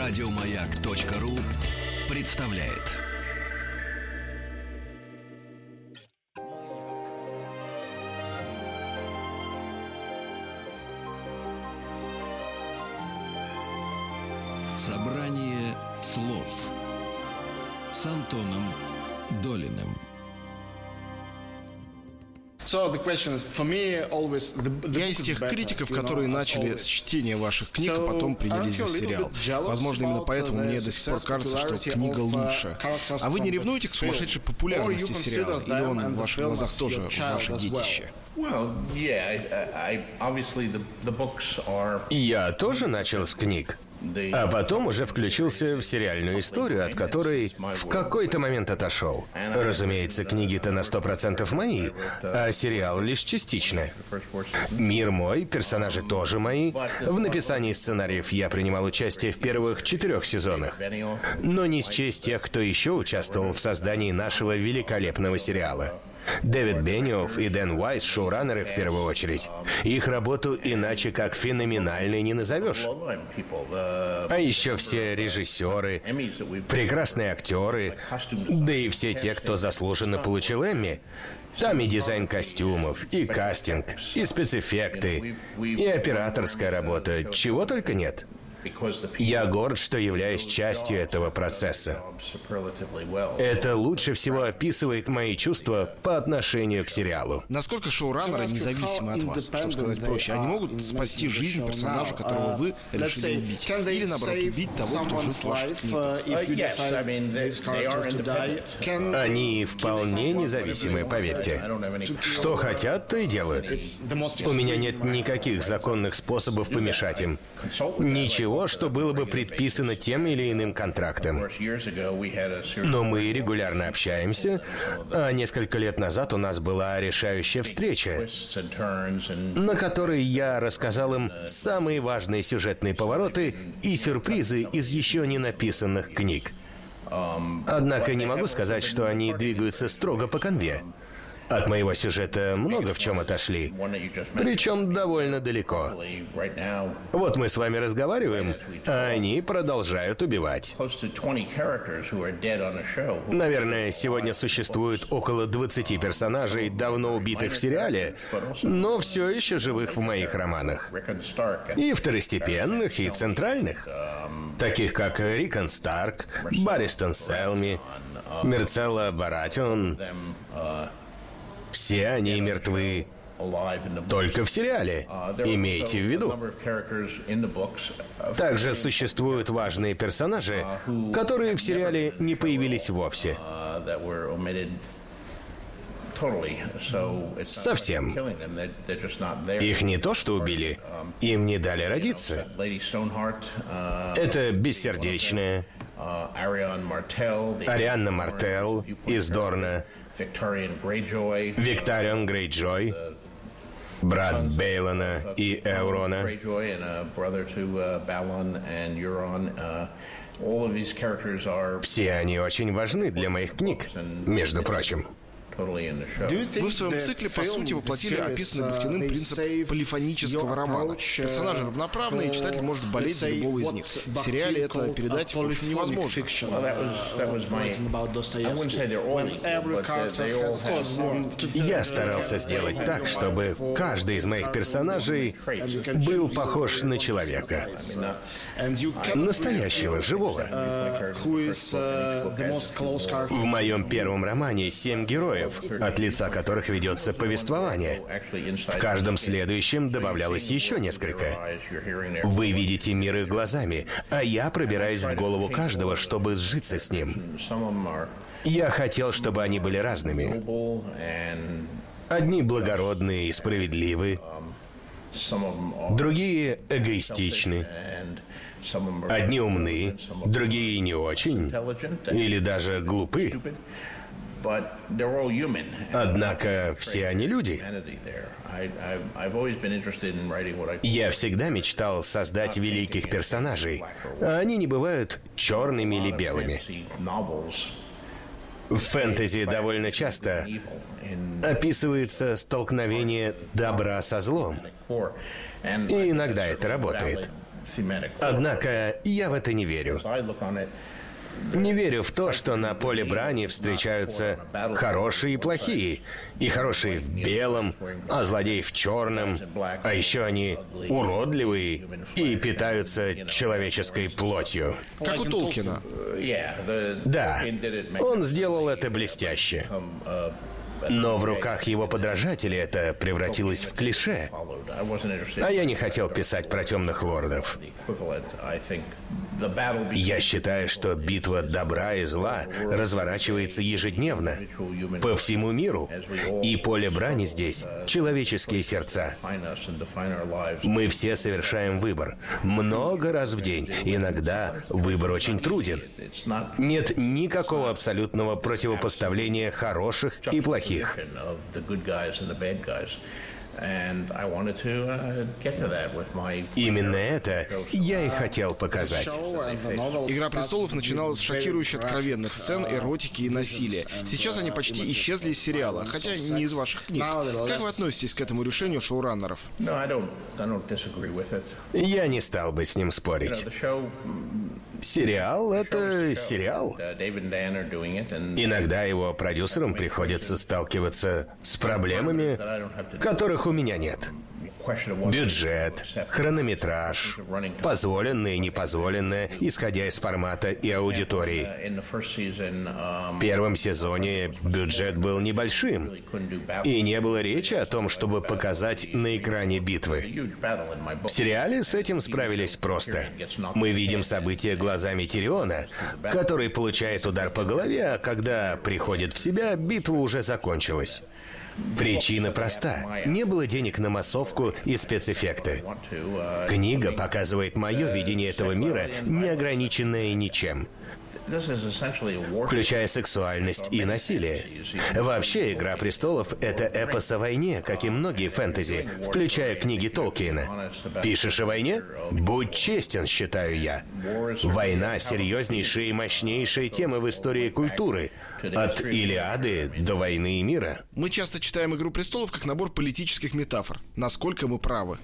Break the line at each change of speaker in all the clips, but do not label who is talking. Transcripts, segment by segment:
Радиомаяк.ру представляет. Собрание слов с Антоном Долиным.
Я из тех критиков, которые начали с чтения ваших книг, а потом принялись за сериал. Возможно, именно поэтому мне до сих пор кажется, что книга лучше. А вы не ревнуете к сумасшедшей популярности сериала? Или он в ваших глазах тоже ваше детище?
Я тоже начал с книг, а потом уже включился в сериальную историю, от которой в какой-то момент отошел. Разумеется, книги-то на 100% мои, а сериал лишь частично. Мир мой, персонажи тоже мои. В написании сценариев я принимал участие в первых 4 сезонах. Но не счесть тех, кто еще участвовал в создании нашего великолепного сериала. Дэвид Бенниофф и Дэн Уайс — шоураннеры в первую очередь. Их работу иначе как феноменальной не назовешь. А еще все режиссеры, прекрасные актеры, да и все те, кто заслуженно получил Эмми. Там и дизайн костюмов, и кастинг, и спецэффекты, и операторская работа, чего только нет. Я горд, что являюсь частью этого процесса. Это лучше всего описывает мои чувства по отношению к сериалу.
Насколько шоураннеры независимы от вас? Чтобы сказать проще, они могут спасти жизнь персонажа, которого вы решили убить? Или, наоборот, убить того, кто жив в ваших книгах?
Они вполне независимы, поверьте. Что хотят, то и делают. У меня нет никаких законных способов помешать им. Ничего, что было бы предписано тем или иным контрактом. Но мы регулярно общаемся, а несколько лет назад у нас была решающая встреча, на которой я рассказал им самые важные сюжетные повороты и сюрпризы из еще не написанных книг. Однако не могу сказать, что они двигаются строго по канве. От моего сюжета много в чем отошли, причем довольно далеко. Вот мы с вами разговариваем, а они продолжают убивать. Наверное, сегодня существует около 20 персонажей, давно убитых в сериале, но все еще живых в моих романах. И второстепенных, и центральных. Таких как Рикон Старк, Барристон Селми, Мирцелла Баратион. Все они мертвы только в сериале, имейте в виду. Также существуют важные персонажи, которые в сериале не появились вовсе. Совсем. Их не то что убили, им не дали родиться. Это Бессердечная, Арианна Мартелл из Дорна, Викториан Грейджой, брат Бейлона и Эурона. Все они очень важны для моих книг, между прочим.
Вы в своем цикле, по сути, воплотили описанный Бахтиным принцип полифонического романа. Персонажи равноправные, и читатель может болеть за любого из них. В сериале это передать невозможно.
Я старался сделать так, чтобы каждый из моих персонажей был похож на человека. Настоящего, живого. В моем первом романе 7 героев, от лица которых ведется повествование. В каждом следующем добавлялось еще несколько. Вы видите мир их глазами, а я пробираюсь в голову каждого, чтобы сжиться с ним. Я хотел, чтобы они были разными. Одни благородные и справедливы, другие эгоистичны, одни умны, другие не очень, или даже глупы. Однако все они люди. Я всегда мечтал создать великих персонажей, а они не бывают черными или белыми. В фэнтези довольно часто описывается столкновение добра со злом. И иногда это работает. Однако я в это не верю. Не верю в то, что на поле брани встречаются хорошие и плохие. И хорошие в белом, а злодеи в черном. А еще они уродливые и питаются человеческой плотью.
Как у Толкина.
Да, он сделал это блестяще. Но в руках его подражателей это превратилось в клише. А я не хотел писать про темных лордов. Я считаю, что битва добра и зла разворачивается ежедневно по всему миру. И поле брани здесь — человеческие сердца. Мы все совершаем выбор. Много раз в день. Иногда выбор очень труден. Нет никакого абсолютного противопоставления хороших и плохих. Именно это я и хотел показать.
«Игра престолов» начиналась с шокирующе откровенных сцен, эротики и насилия. Сейчас они почти исчезли из сериала, хотя не из ваших книг. Как вы относитесь к этому решению шоураннеров?
Я не стал бы с ним спорить. Сериал — это сериал. Иногда его продюсерам приходится сталкиваться с проблемами, которых у меня нет. Бюджет, хронометраж, позволенное и непозволенное, исходя из формата и аудитории. В первом сезоне бюджет был небольшим, и не было речи о том, чтобы показать на экране битвы. В сериале с этим справились просто. Мы видим события глазами Тириона, который получает удар по голове, а когда приходит в себя, битва уже закончилась. Причина проста. Не было денег на массовку и спецэффекты. Книга показывает мое видение этого мира, не ограниченное ничем, включая сексуальность и насилие. Вообще, «Игра престолов» — это эпос о войне, как и многие фэнтези, включая книги Толкиена. Пишешь о войне? Будь честен, считаю я. Война — серьезнейшая и мощнейшая тема в истории культуры. От Илиады до «Войны и мира».
Мы часто читаем «Игру престолов» как набор политических метафор. Насколько мы правы?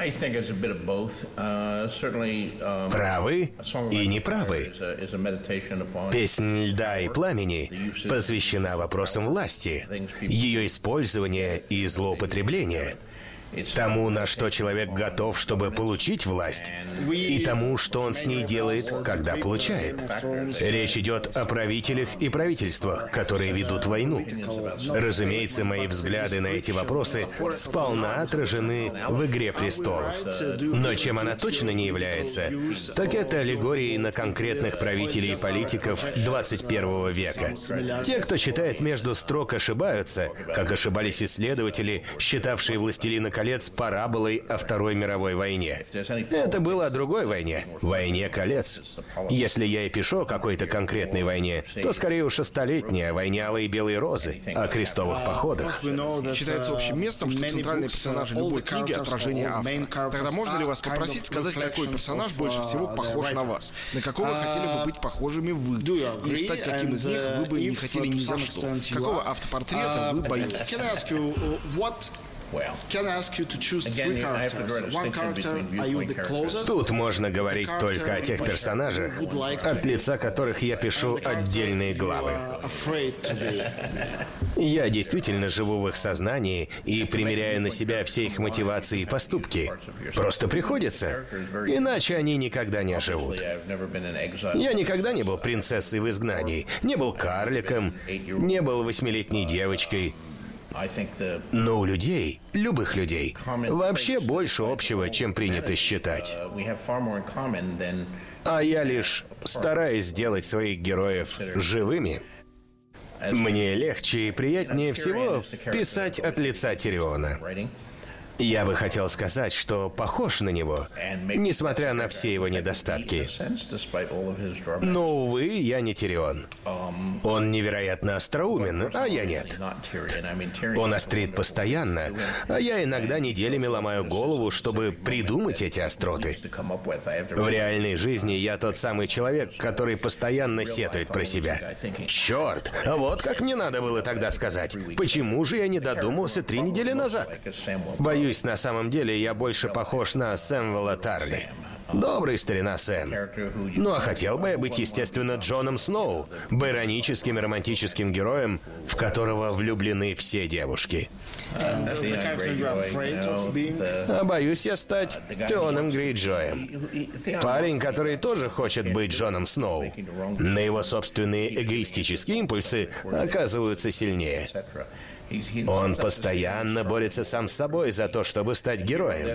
Правы и неправы. «Песнь льда и пламени» посвящена вопросам власти, ее использования и злоупотребления, тому, на что человек готов, чтобы получить власть, и тому, что он с ней делает, когда получает. Речь идет о правителях и правительствах, которые ведут войну. Разумеется, мои взгляды на эти вопросы сполна отражены в «Игре престолов». Но чем она точно не является, так это аллегорией на конкретных правителей и политиков 21 века. Те, кто читает между строк, ошибаются, как ошибались исследователи, считавшие «Властелина колец» параболой о Второй мировой войне. Это было о другой войне — «Войне колец». Если я и пишу о какой-то конкретной войне, то скорее уж о столетней, о войне Алой и Белой Розы, о крестовых походах.
Считается общим местом, что центральные персонажи любой книги — отражение автора. Тогда можно ли вас попросить сказать, какой персонаж больше всего похож на вас? На какого хотели бы быть похожими вы? И стать каким из них вы бы не хотели ни за что? Какого автопортрета вы боитесь?
Тут можно говорить только о тех персонажах, от лица которых я пишу отдельные главы. Я действительно живу в их сознании и примеряю на себя все их мотивации и поступки. Просто приходится, иначе они никогда не оживут. Я никогда не был принцессой в изгнании, не был карликом, не был 8-летней девочкой. Но у людей, любых людей, вообще больше общего, чем принято считать. А я лишь стараюсь сделать своих героев живыми. Мне легче и приятнее всего писать от лица Тириона. Я бы хотел сказать, что похож на него, несмотря на все его недостатки. Но, увы, я не Тирион. Он невероятно остроумен, а я нет. Он острит постоянно, а я иногда неделями ломаю голову, чтобы придумать эти остроты. В реальной жизни я тот самый человек, который постоянно сетует про себя. Черт, вот как мне надо было тогда сказать. Почему же я не додумался 3 недели назад? Боюсь, на самом деле я больше похож на Сэмюэла Тарли. Добрый старина Сэм. Ну а хотел бы я быть, естественно, Джоном Сноу, бароническим и романтическим героем, в которого влюблены все девушки. А боюсь я стать Теоном Грейджоем. Парень, который тоже хочет быть Джоном Сноу. Но его собственные эгоистические импульсы оказываются сильнее. Он постоянно борется сам с собой за то, чтобы стать героем.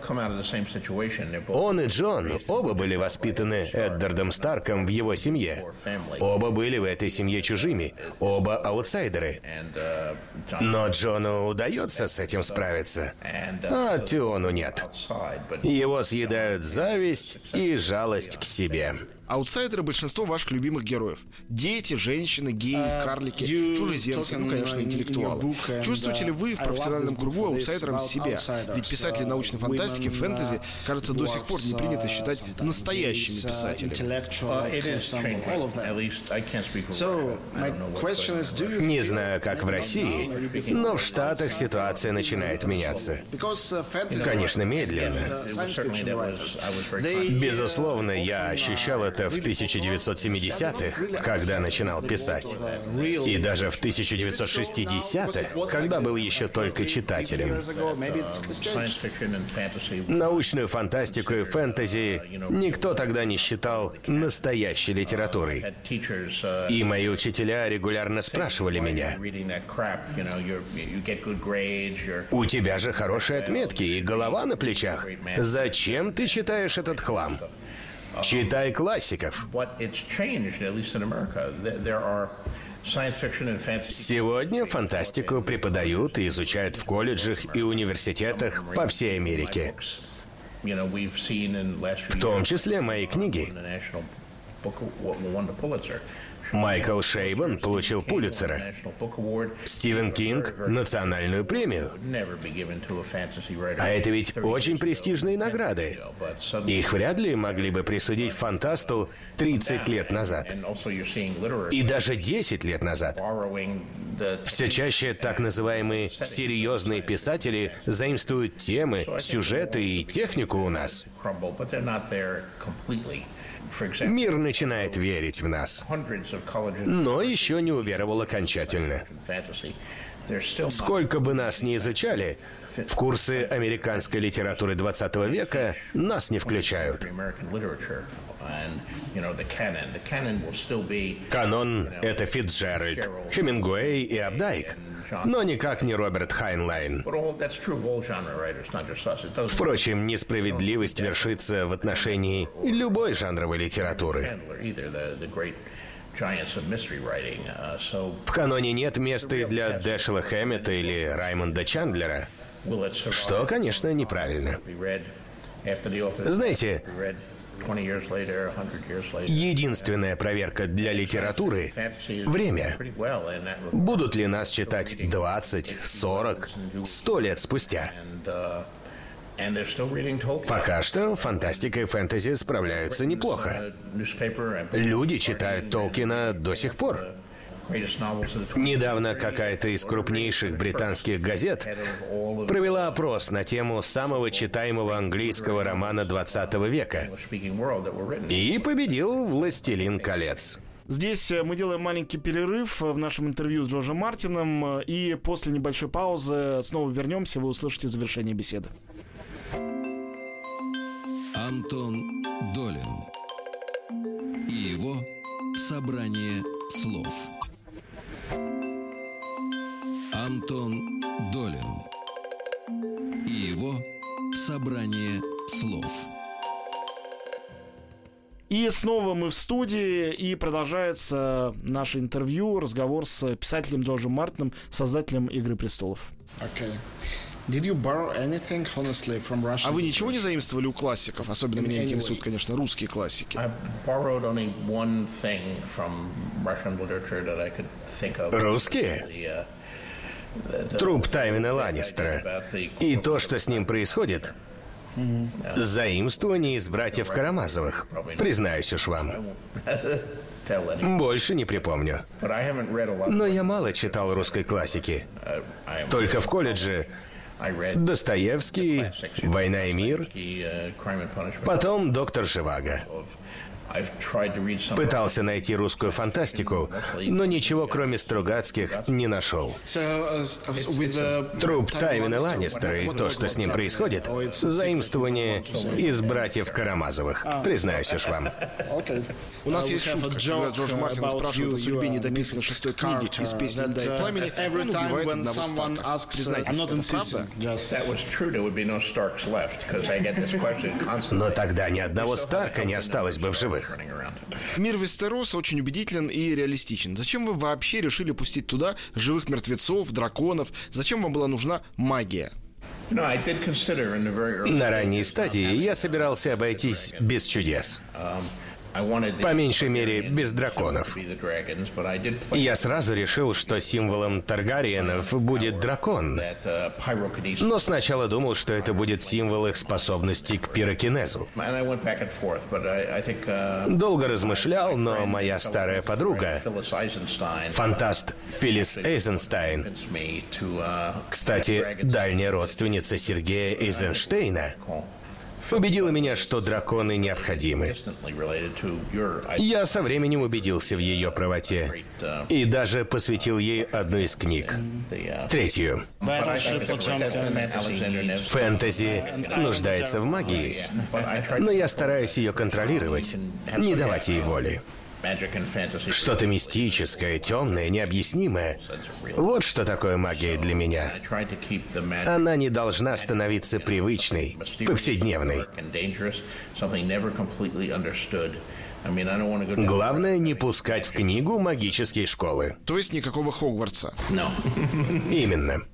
Он и Джон оба были воспитаны Эддардом Старком в его семье. Оба были в этой семье чужими. Оба аутсайдеры. Но Джону удается с этим справиться, а Теону нет. Его съедают зависть и жалость к себе.
Аутсайдеры — большинство ваших любимых героев. Дети, женщины, геи, карлики, чужеземцы, ну, конечно, интеллектуалы. Чувствуете ли вы в профессиональном кругу аутсайдером себя? Ведь писатели научной фантастики, фэнтези, кажется, до сих пор не принято считать настоящими писателями.
Не знаю, как в России, но в Штатах ситуация начинает меняться. Конечно, медленно. Безусловно, я ощущал это в 1970-х, когда начинал писать. И даже в 1960-х, когда был еще только читателем. Научную фантастику и фэнтези никто тогда не считал настоящей литературой. И мои учителя регулярно спрашивали меня: «У тебя же хорошие отметки и голова на плечах. Зачем ты читаешь этот хлам? Читай классиков». Сегодня фантастику преподают и изучают в колледжах и университетах по всей Америке. В том числе мои книги. Майкл Шейбан получил Пулитцера. Стивен Кинг — национальную премию. А это ведь очень престижные награды. Их вряд ли могли бы присудить фантасту 30 лет назад. И даже 10 лет назад. Все чаще так называемые серьезные писатели заимствуют темы, сюжеты и технику у нас. Мир начинает верить в нас, но еще не уверовал окончательно. Сколько бы нас ни изучали, в курсы американской литературы 20 века нас не включают. Канон — это Фицджеральд, Хемингуэй и Апдайк, но никак не Роберт Хайнлайн. Впрочем, несправедливость вершится в отношении любой жанровой литературы. В каноне нет места и для Дэшела Хэммета или Раймонда Чандлера, что, конечно, неправильно. Знаете, единственная проверка для литературы — время. Будут ли нас читать 20, 40, 100 лет спустя? Пока что фантастика и фэнтези справляются неплохо. Люди читают Толкина до сих пор. Недавно какая-то из крупнейших британских газет провела опрос на тему самого читаемого английского романа 20 века. И победил «Властелин колец».
Здесь мы делаем маленький перерыв в нашем интервью с Джорджем Мартином, и после небольшой паузы снова вернемся, вы услышите завершение беседы.
Антон Долин и его собрание слов. Антон Долин и его собрание слов.
И снова мы в студии, и продолжается наше интервью, разговор с писателем Джорджем Мартином, создателем «Игры престолов». А вы ничего не заимствовали у классиков? Особенно меня интересуют, конечно, русские классики.
Русские? Труп Тайвина Ланнистера. И то, что с ним происходит. Заимствование из братьев Карамазовых. Признаюсь уж вам. Больше не припомню. Но я мало читал русской классики. Только в колледже Достоевский, «Война и мир», потом «Доктор Живаго». Пытался найти русскую фантастику, но ничего, кроме Стругацких, не нашел. Труп Тайвина Ланнистера и то, что с ним происходит, заимствование из «Братьев Карамазовых». Признаюсь уж вам.
У нас есть шутка, когда Джордж Мартин спрашивает о судьбе недописанной 6-й книги из «Песни льда и пламени», он убивает одного Старка. Признайтесь, это правда?
Но тогда ни одного Старка не осталось бы в живых.
Мир Вестероса очень убедителен и реалистичен. Зачем вы вообще решили пустить туда живых мертвецов, драконов? Зачем вам была нужна магия?
На ранней стадии я собирался обойтись без чудес. По меньшей мере, без драконов. Я сразу решил, что символом Таргариенов будет дракон. Но сначала думал, что это будет символ их способности к пирокинезу. Долго размышлял, но моя старая подруга, фантаст Филлис Эйзенштейн, кстати, дальняя родственница Сергея Эйзенштейна, убедила меня, что драконы необходимы. Я со временем убедился в ее правоте и даже посвятил ей одну из книг. Третью. Фэнтези нуждается в магии, но я стараюсь ее контролировать, не давать ей воли. Что-то мистическое, темное, необъяснимое. Вот что такое магия для меня. Она не должна становиться привычной, повседневной. Главное не пускать в книгу магические школы.
То есть никакого Хогвартса?
Именно.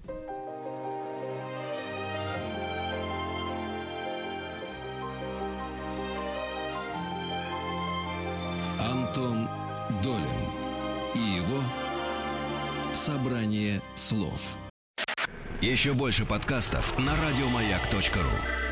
Антон Долин и его «Собрание слов». Еще больше подкастов на радиомаяк.ру.